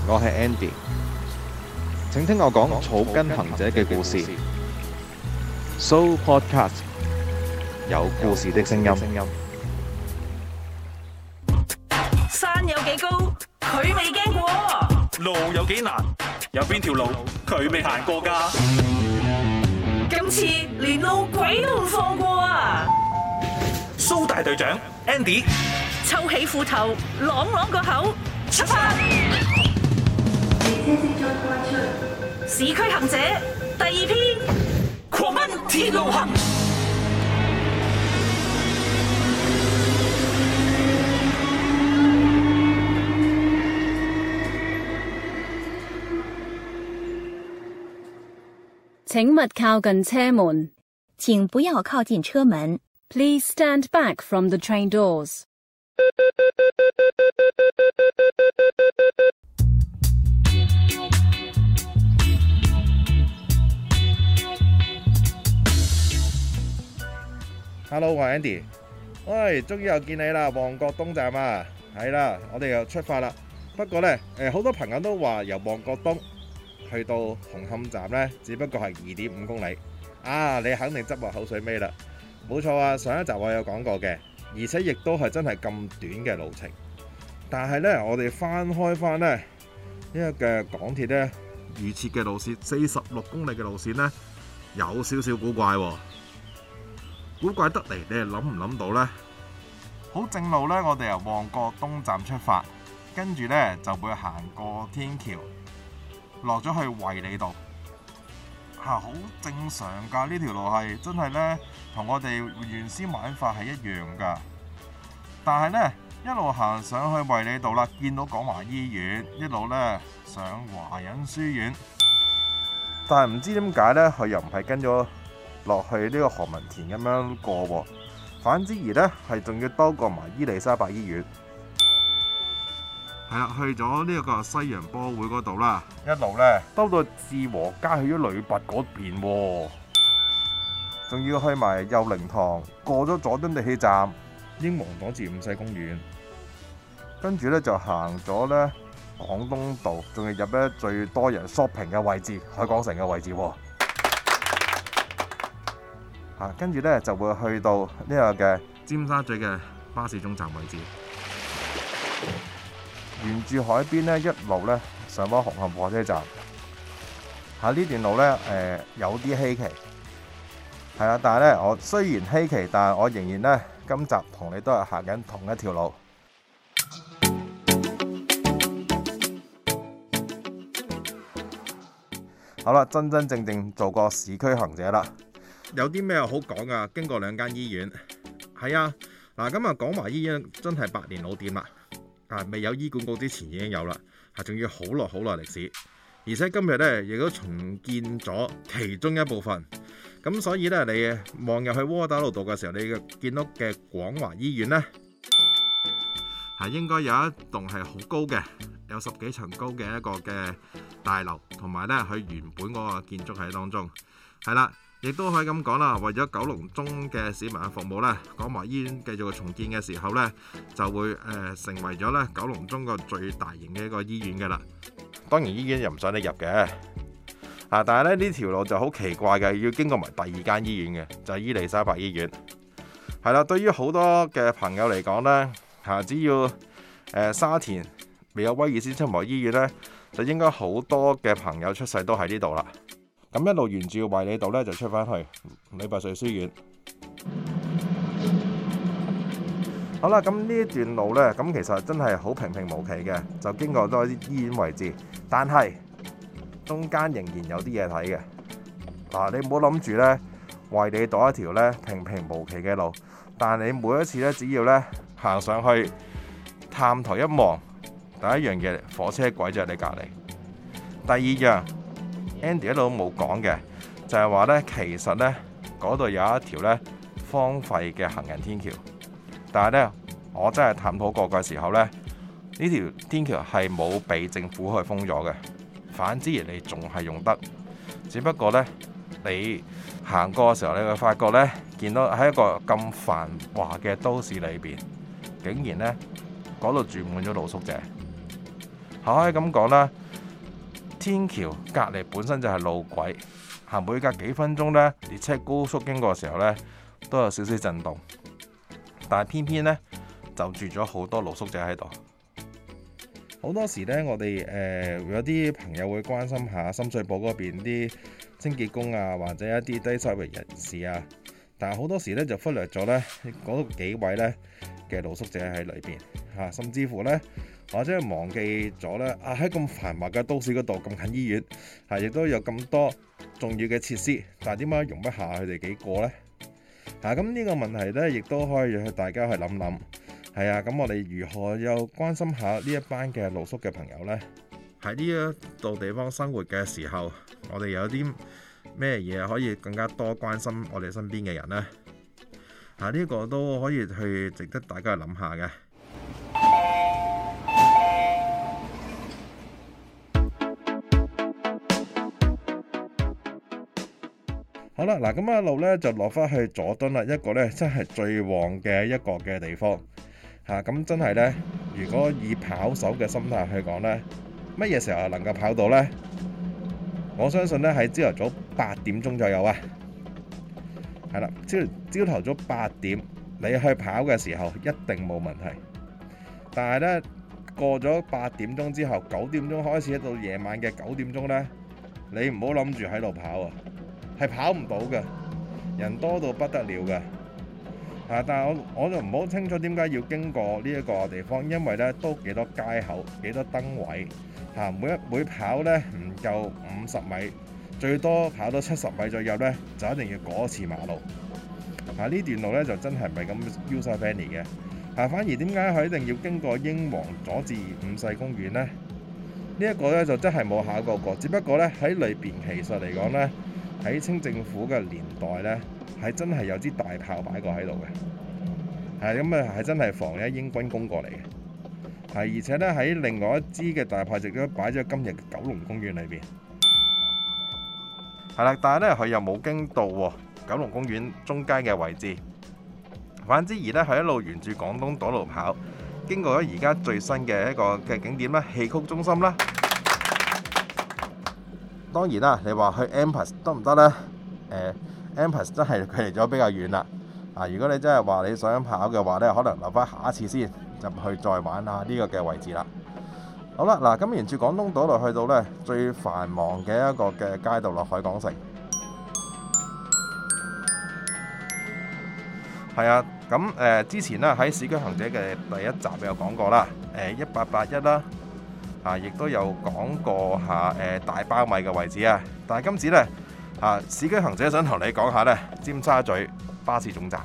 我係 Andy，請聽我講草根行者嘅故事。So Podcast 有故事的聲音。 山有幾高，佢未驚過； 路有幾難，有邊條路佢未行過㗎？ 今次連路鬼都唔放過啊！ 蘇大隊長 Andy 抽起褲頭，朗朗個口，出發！市區行者第2篇，狂奔鐵路行。 請勿靠近車門。 請不要靠近車門。 Please stand back from the train doors. Hello， 我係 Andy。喂，終於又見你啦，旺角東站啊，係啦，我哋又出發啦。不過呢，好多朋友都話由旺角東去到紅磡站呢，只不過係2.5公里。啊，你肯定執我口水尾啦。冇錯啊，上一集我有講過嘅，而且亦都係真係咁短嘅路程。但係呢，我哋翻開翻呢個嘅港鐵呢預設嘅路線46公里嘅路線呢，有少少古怪喎。古怪得嚟，你係諗唔諗到呢？好正路呢，我哋由旺角東站出發，跟住呢就會行過天橋，落咗去衛理道。好正常㗎，呢條路係真係呢，同我哋原先玩法係一樣㗎。但係呢，一路行上去衛理道啦，見到廣華醫院，一路呢上華仁書院，但係唔知點解呢，佢又唔係跟咗落去呢個何文田咁樣過喎，反之而呢係仲要兜過埋伊利沙伯醫院，係啦，去咗呢個西洋波會嗰度啦，一路呢兜到志和街去咗女拔嗰邊喎，仲要去埋佑寧堂，過咗佐敦地鐵站、英皇黨至五世公園，跟住呢就行咗呢廣東道，仲要入呢最多人 shopping 嘅位置，海港城嘅位置喎。跟住呢就會去到呢個嘅尖沙咀嘅巴士總站位置，沿住海邊呢一路呢上返紅磡火車站。呢段路呢，有啲稀奇，係啦，但係呢，我雖然稀奇，但係我仍然呢今集同你都係行緊同一條路。好啦，真真正正做個市區行者啦。有啲咩好講啊？經過2間醫院，係啊，嗱，咁啊，廣華醫院真係百年老店啦，未有醫管局之前已經有啦，仲要好耐歷史，而且今日呢亦都重建咗其中一部分，咁所以呢，你望入去窩打老道嘅時候，你見到嘅廣華醫院呢，應該有一棟係好高嘅，有10幾層高嘅一個嘅大樓，同埋呢佢原本嗰個建築喺當中，係啦。亦都可以咁講啦，為咗九龍中嘅市民嘅服務呢，廣華醫院繼續重建嘅時候呢，就會成為咗呢九龍中個最大型嘅一個醫院嘅啦。當然醫院又唔想你入嘅，但係呢條路就好奇怪嘅，要經過埋第2間醫院嘅，就係伊利沙伯醫院。係啦，對於好多嘅朋友嚟講呢，只要沙田未有威爾斯親王醫院呢，就應該好多嘅朋友出世都喺呢度啦。咁一路沿住衛理道咧，就出翻去李拔萃書院。好啦，咁呢一段路呢，咁其實真係好平平無奇嘅，就經過多啲醫院位置，但係中間仍然有啲嘢睇嘅。你唔好諗住呢，衛理道一條呢平平無奇嘅路，但你每一次呢，只要呢行上去探頭一望，第一樣嘢火車軌就喺你隔離。第二樣Andy 一路都冇講嘅，就係話呢，其實呢嗰度有一條呢荒廢嘅行人天橋，但係呢，我真係探討過嘅時候呢，呢條天橋係冇被政府去封咗嘅，反之而你仲係用得，只不過呢，你行過嘅時候，你會發覺呢，見到喺一個咁繁華嘅都市裏邊，竟然呢嗰度住滿咗露宿者。 可以咁講啦，天橋隔離本身就係路軌，每隔幾分鐘呢，列車高速經過嘅時候呢，都有少少震動，但係偏偏呢，就住咗好多露宿者喺度。好多時呢，我哋有啲朋友會關心下深水埗嗰邊啲清潔工啊，或者一啲低收入人士啊，但係好多時呢，就忽略咗呢嗰幾位呢嘅露宿者喺裏邊嚇，甚至乎呢，或者係忘記咗呢喺咁繁華嘅都市嗰度咁近醫院亦都有咁多重要嘅設施，但係點解容不下佢哋幾個呢？咁呢個問題呢，亦都可以讓大家去諗諗。咁我哋如何又關心下呢一班嘅露宿嘅朋友呢？喺呢一度地方生活嘅時候，我哋有啲咩嘢可以更加多關心我哋身邊嘅人呢？呢個都可以去值得大家去諗下嘅。好啦，嗱咁一路呢就落返去佐敦啦，一個呢真係最旺嘅一個嘅地方。咁真係呢，如果以跑手嘅心態去講呢，乜嘢時候能夠跑到呢？我相信呢喺朝頭早8點鐘左右啊。係啦，朝頭早8點你去跑嘅時候一定冇問題。但係呢，過咗8點鐘之後，9點鐘開始到夜晚嘅9點鐘呢，你唔好諗住喺度跑啊，係跑唔到嘅，人多到不得了嘅。但係我就唔好清楚點解要經過呢一個地方，因為呢都幾多街口，幾多燈位，每跑呢唔夠50米，最多跑到70米左右呢，就一定要過一次馬路。呢段路呢就真係唔係咁 user friendly 嘅。反而點解佢一定要經過英皇佐治五世公園呢？呢一個呢就真係冇考過，只不過呢喺裏邊其實嚟講呢，喺清政府嘅年代呢，係真係有支大炮擺過喺度嘅，係真係防英軍攻過嚟嘅，而且呢，喺另外一支嘅大炮亦都擺咗今日嘅九龍公園裏邊，但係呢，佢又冇經到九龍公園中間嘅位置，反之而呢，佢一路沿住廣東道路跑，經過咗而家最新嘅一個嘅景點啦，戲曲中心啦。當然啦，你話去 M+ 得唔得呢？M+ 真係距離咗比較遠啦。如果你真係話你想跑嘅話呢，可能留翻下一次先入去再玩下呢個嘅位置啦。好啦，嗱咁沿住廣東道路去到呢最繁忙嘅一個嘅街道落海港城。係啊，咁之前呢喺市區行者嘅第一集有講過啦，1881啦。亦都有講過下大包米嘅位置啊，但係今次呢，市區行者想同你講下呢尖沙咀巴士總站。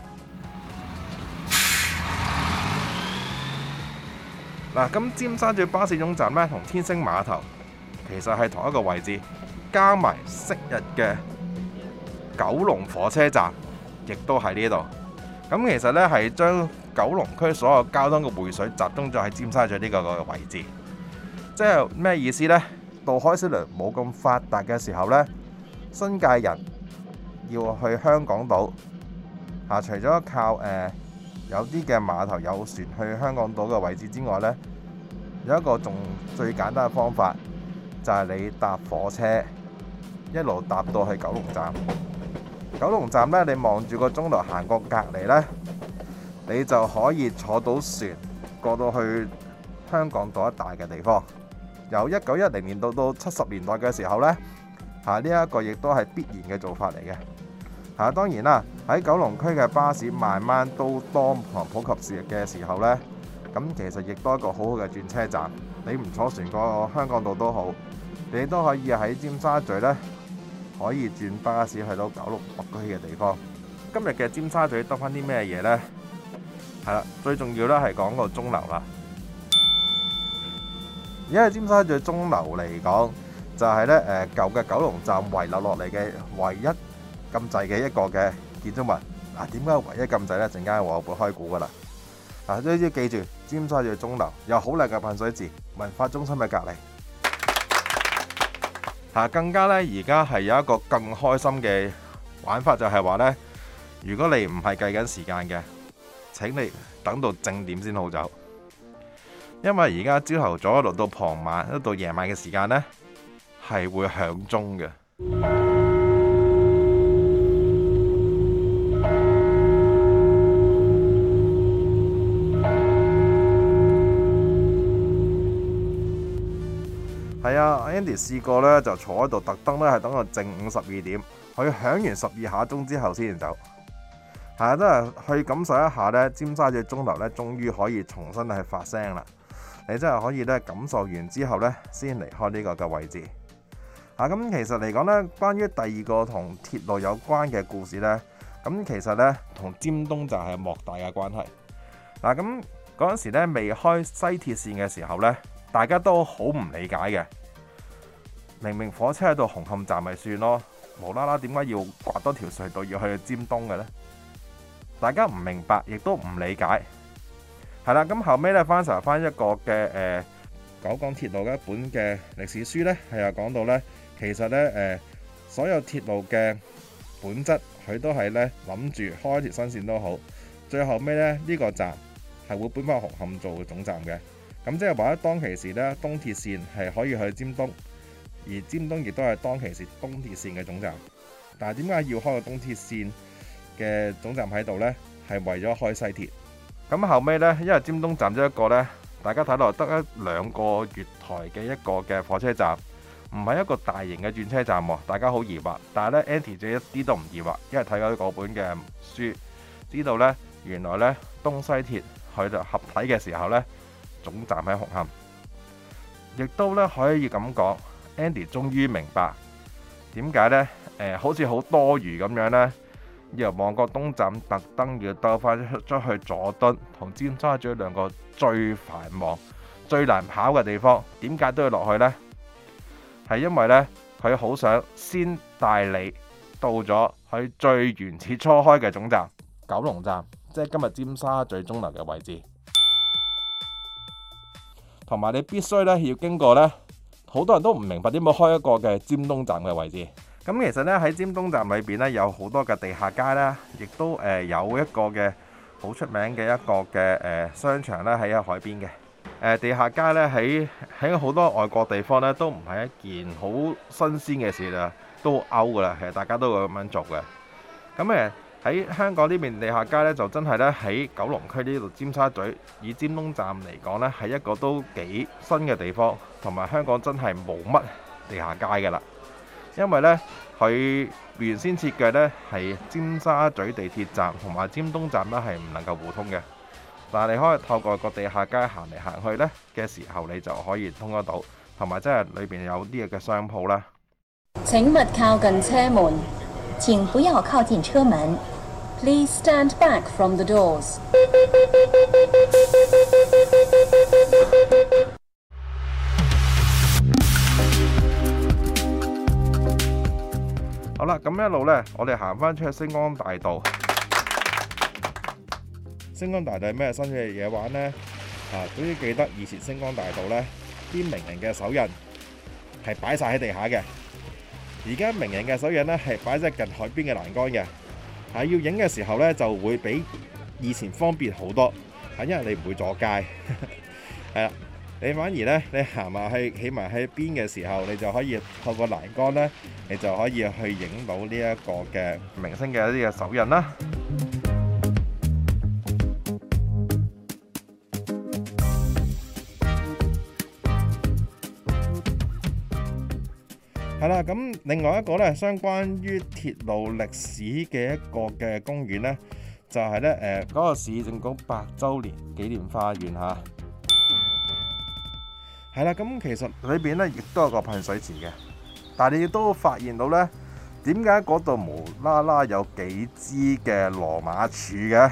咁尖沙咀巴士總站呢，同天星碼頭其實係同一個位置，加埋昔日嘅九龍火車站，亦都喺呢度。咁其實呢，係將九龍區所有交通嘅匯水集中咗喺尖沙咀呢個位置。即係咩意思呢？渡海小輪冇咁發達嘅時候呢，新界人要去香港島除咗靠有啲嘅碼頭有船去香港島嘅位置之外呢，有一個仲最簡單嘅方法，就係你搭火車一路搭到去九龍站。九龍站呢，你望住個鐘頭行過隔離呢，你就可以坐到船過到去香港島一帶嘅地方。由1910年到70年代嘅時候呢，呢一個亦都係必然嘅做法嚟嘅。當然啦，喺九龍區嘅巴士慢慢都多普及嘅時候呢，咁其實亦都係一個好好嘅轉車站。你唔坐船過香港島都好，你都可以喺尖沙咀呢，可以轉巴士去到九龍北區嘅地方。今日嘅尖沙咀得返啲咩嘢呢？係啦，最重要咧係講個鐘樓啦。而家喺尖沙咀鐘樓嚟講，就係咧舊嘅九龍站遺留落嚟嘅唯一禁制嘅一個嘅建築物。點解唯一禁制呢？陣間我會開估噶啦。都要記住，尖沙咀鐘樓有好靚嘅噴水池，文化中心嘅隔離。更加呢，而家係有一個更開心嘅玩法，就係話呢：如果你唔係計緊時間嘅，請你等到正點先好走。 因為而家朝頭早一路到傍晚，一路到夜晚嘅時間呢，係會響鐘嘅。係啊 ，Andy 試過呢，就坐喺度，特登呢係等到正午12點，佢響完12下鐘之後先走。係啊，真係去感受一下呢，尖沙咀鐘樓呢，終於可以重新去發聲啦。你真係可以呢，感受完之後呢，先離開呢個嘅位置。咁其實嚟講呢，關於第二個同鐵路有關嘅故事呢，咁其實呢，同尖東站係莫大嘅關係。咁嗰陣時呢，未開西鐵線嘅時候呢，大家都好唔理解嘅。明明火車喺到紅磡站咪算咯，無啦啦點解要刮多條隧道要去尖東嘅呢？大家唔明白，亦都唔理解。係啦，咁後尾呢，翻查翻一個嘅九廣鐵路嘅一本嘅歷史書呢，係有講到呢，其實呢，所有鐵路嘅本質，佢都係呢諗住開條新線都好，最後尾呢，呢個站係會搬翻紅磡做總站嘅。咁即係話當其時呢，東鐵線係可以去尖東，而尖東亦都係當其時東鐵線嘅總站。但係點解要開個東鐵線嘅總站喺度呢？係為咗開西鐵。咁後尾呢，因為尖東站咗一個呢，大家睇落得2個月台嘅一個嘅火車站，唔係一個大型嘅轉車站喎。大家好疑惑，但係呢 Andy 就一啲都唔疑惑，因為睇咗嗰本嘅書，知道呢，原來呢，東西鐵佢就合體嘅時候呢，總站喺紅磡，亦都呢可以咁講。Andy 終於明白點解呢，好似好多餘咁樣呢，由旺角東站特登要兜翻出去佐敦同尖沙咀兩個最繁忙、最難跑嘅地方，點解都要落去呢？係因為呢，佢好想先帶你到咗佢最原始初開嘅總站九龍站，即係今日尖沙咀鐘樓嘅位置。同埋你必須呢要經過呢，好多人都唔明白點解開一個嘅尖東站嘅位置。咁其實呢，喺尖東站裏邊呢，有好多嘅地下街啦，亦都有一個嘅好出名嘅一個嘅商場咧喺海邊嘅。地下街呢，喺好多外國地方呢，都唔係一件好新鮮嘅事啦，都好 out 噶啦，其實大家都會咁樣做嘅。咁喺香港呢邊地下街呢，就真係呢，喺九龍區呢度尖沙咀以尖東站嚟講呢，係一個都幾新嘅地方，同埋香港真係冇乜地下街㗎啦。因為呢，佢原先設計呢係尖沙咀地鐵站同埋尖東站呢係唔能夠互通嘅，但係你可以透過個地下街行嚟行去呢嘅時候，你就可以通得到，同埋真係裏邊有啲嘅商鋪啦。 請勿靠近車門。 請不要靠近車門。 Please stand back from the doors. 好啦，咁一路呢，我哋行翻出去星光大道。星光大道係咩新嘅嘢玩呢？總之記得以前星光大道呢啲名人嘅手印係擺晒喺地下嘅。而家名人嘅手印呢係擺喺近海邊嘅欄杆嘅。要影嘅時候呢，就會比以前方便好多，因為你唔會阻街。係啦。你反而呢，你行埋去企埋喺邊嘅時候，你就可以透過欄杆呢，你就可以去影到呢一個嘅明星嘅一啲嘅手印啦。係啦，咁另外一個呢，相關於鐵路歷史嘅一個嘅公園呢，就係呢嗰個市政局100週年紀念花園嚇。係啦，咁其實裏邊咧亦都有個噴水池嘅，但係你亦都發現到呢，點解嗰度無啦啦有幾支嘅羅馬柱嘅？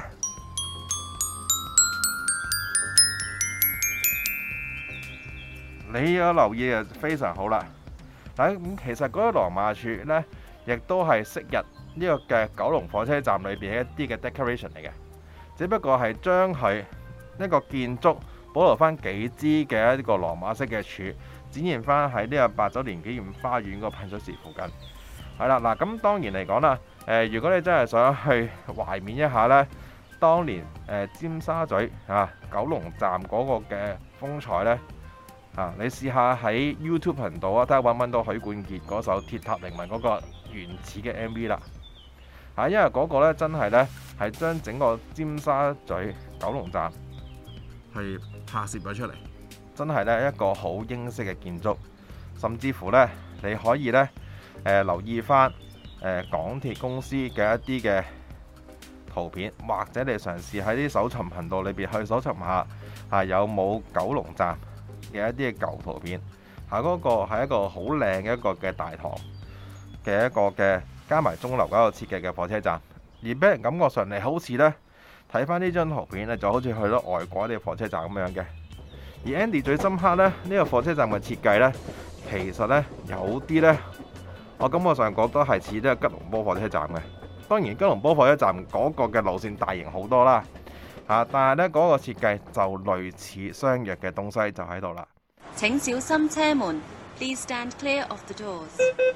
你有留意就非常好啦。咁其實嗰啲羅馬柱呢，亦都係昔日呢個嘅九龍火車站裏邊一啲嘅 decoration 嚟嘅，只不過係將佢一個建築保留翻幾支嘅一個羅馬式嘅柱，展現翻喺呢個100週年紀念花園個噴水池附近。係啦，嗱咁當然嚟講啦，如果你真係想去懷緬一下呢， 當年尖沙咀九龍站嗰個嘅風采呢，你試下喺 YouTube 頻道睇下揾唔揾到許冠傑嗰首《鐵塔凌雲》嗰個原始嘅 MV 啦。因為嗰個呢真係呢，係將整個尖沙咀九龍站係拍攝咗出嚟，真係呢一個好英式嘅建築，甚至乎呢，你可以呢留意翻港鐵公司嘅一啲嘅圖片，或者你嘗試喺啲搜尋頻道裏邊去搜尋下有冇九龍站嘅一啲嘅舊圖片。嗰個係一個好靚嘅一個嘅大堂嘅一個嘅加埋鐘樓嗰個設計嘅火車站，而俾人感覺上嚟好似呢，睇翻呢張圖片呢，就好似去到外國啲火車站咁樣嘅。而 Andy 最深刻呢，呢個火車站嘅設計呢，其實呢，有啲呢，我感覺上覺得係似呢個吉隆坡火車站嘅。當然吉隆坡火車站嗰個嘅路線大型好多啦，但係呢嗰個設計就類似相約嘅東西就喺度啦。 請小心車門。Please stand clear of the doors。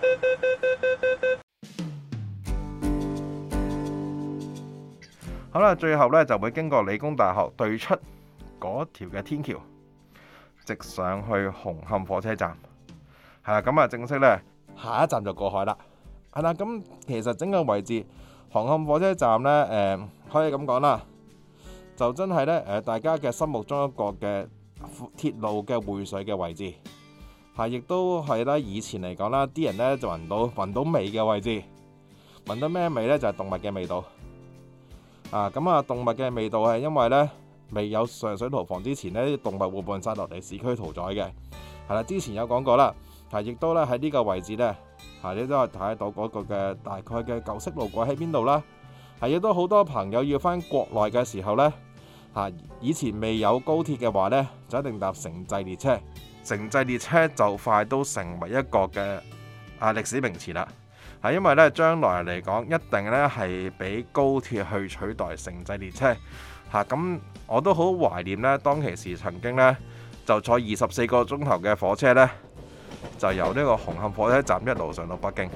好啦，最後呢就會經過理工大學對出嗰條嘅天橋，直上去紅磡火車站。係啦，咁正式呢，下一站就過海啦。係啦，咁其實整個位置紅磡火車站呢，可以咁講啦，就真係呢，大家嘅心目中一個嘅鐵路嘅匯水嘅位置，亦都係咧以前嚟講啦，啲人呢就聞到味嘅位置，聞到咩味呢？就係動物嘅味道。動物嘅味道係因為呢，未有上水屠房之前呢，啲動物會搬晒落嚟市區屠宰嘅。係啦，之前有講過啦，亦都咧喺呢個位置呢，你都係睇到嗰個嘅大概嘅舊式路軌喺邊度啦。亦都好多朋友要返國內嘅時候呢，以前未有高鐵嘅話呢，就一定搭城際列車。城際列車就快都成為一個嘅歷史名詞啦。因為咧將來嚟講，一定咧係俾高鐵去取代城際列車。咁我都好懷念呢，當其時曾經呢，就坐24個鐘頭嘅火車呢，就由呢個紅磡火車站一路上到北京。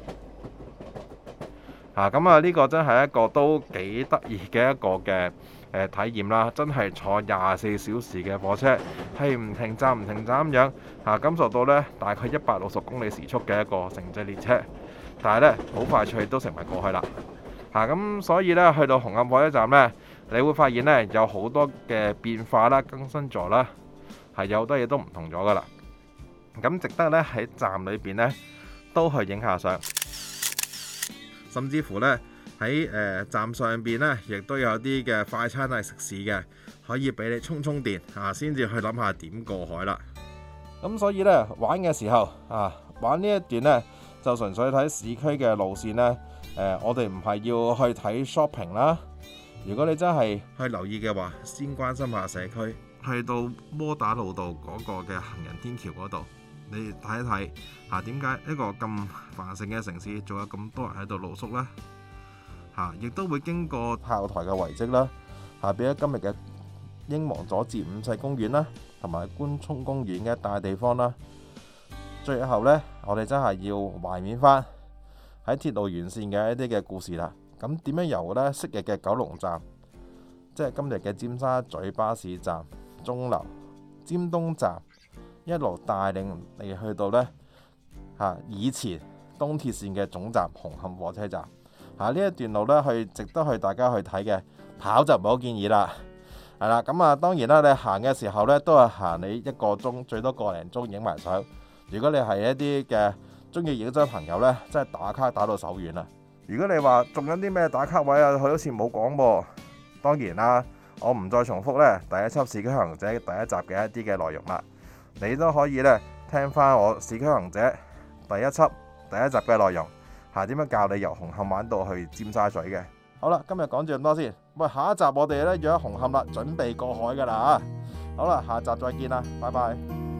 呢個真係一個都幾得意嘅一個嘅體驗啦，真係坐24小時嘅火車，係唔停站咁樣，感受到呢大概160公里時速嘅一個城際列車，但係呢好快脆都成為過去啦。咁所以呢，去到紅磡火車站呢，你會發現呢有好多嘅變化啦、更新咗啦，有好多嘢都唔同咗噶啦。咁值得呢喺站裏邊呢都去影下相。甚至乎呢，喺站上邊呢，亦都有啲嘅快餐係食肆嘅，可以俾你充電先至去諗下點過海啦。咁所以呢，玩嘅時候玩呢一段呢，就純粹睇市區嘅路線呢。我哋唔係要去睇 shopping 啦。如果你真係去留意嘅話，先關心下社區，去到窩打老道嗰個嘅行人天橋嗰度。你睇一睇點解一個咁繁盛嘅城市仲有咁多人喺度露宿呢？亦都會經過炮台嘅遺跡啦，變咗今日嘅英皇佐治五世公園啦，同埋官涌公園嘅一帶地方啦。最後呢，我哋真係要懷緬翻喺鐵路沿線嘅一啲嘅故事啦。咁點樣由呢昔日嘅九龍站，即係今日嘅尖沙咀巴士站、鐘樓、尖東站，一路帶領你去到呢以前東鐵線嘅總站紅磡火車站。呢一段路呢，值得去大家去睇嘅，跑就唔好建議啦。係啦，咁當然啦，你行嘅時候呢，都係行你1個鐘，最多個零鐘影埋相。如果你係一啲嘅中意影相朋友呢，真係打卡打到手軟啦。如果你話仲有啲咩打卡位佢好似冇講噃。當然啦，我唔再重複呢第一輯市區行者第一集嘅一啲嘅內容啦。你都可以呢聽翻我市區行者第一集嘅內容，點樣教你由紅磡玩到去尖沙咀嘅。好啦，今日講住咁多先。喂，下一集我哋呢約喺紅磡啦，準備過海噶啦。好啦，下集再見啦，拜拜。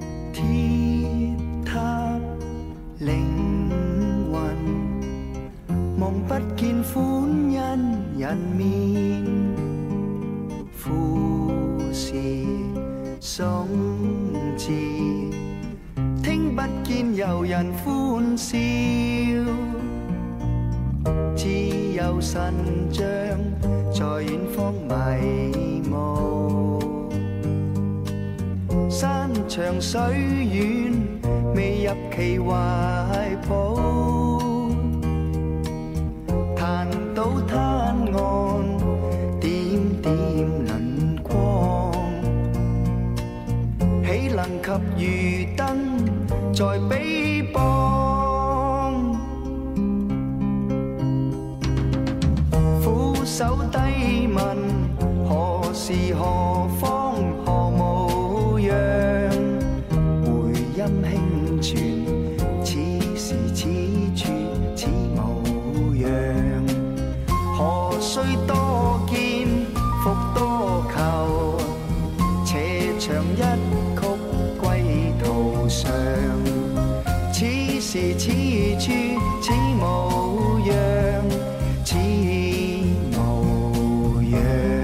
鐵塔凌雲，望不見歡欣人面，富士鬆枝，聽不見遊人歡笑，自由有神像在遠方迷霧，山長水遠未入其懷抱，彈到灘岸點點輪光，豈能及漁燈在彼邦？俯首低問何時何方何模樣，回音輕傳此時此處此模樣，何須多見復多求，斜長一曲歸途上，此時此處此模樣，此模樣。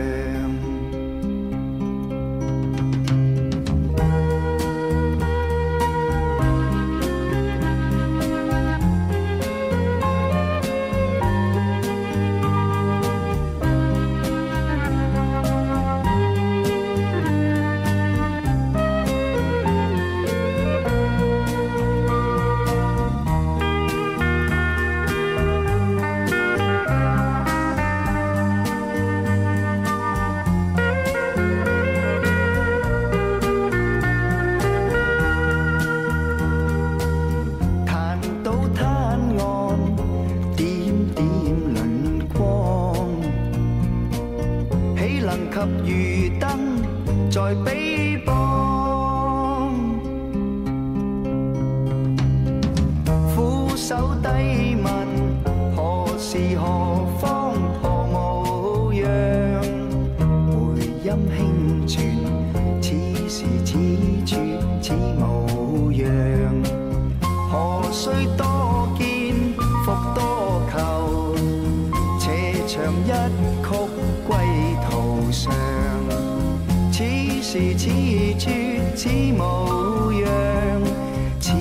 及漁燈在彼邦，俯首低問何時何方何模樣，回音輕傳此時此處此模樣，何須多見復多求，斜長一曲歸途上，此時此處此模樣，此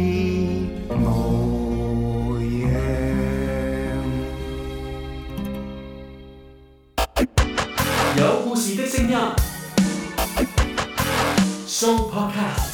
模樣。 有故事的聲音 Show Podcast。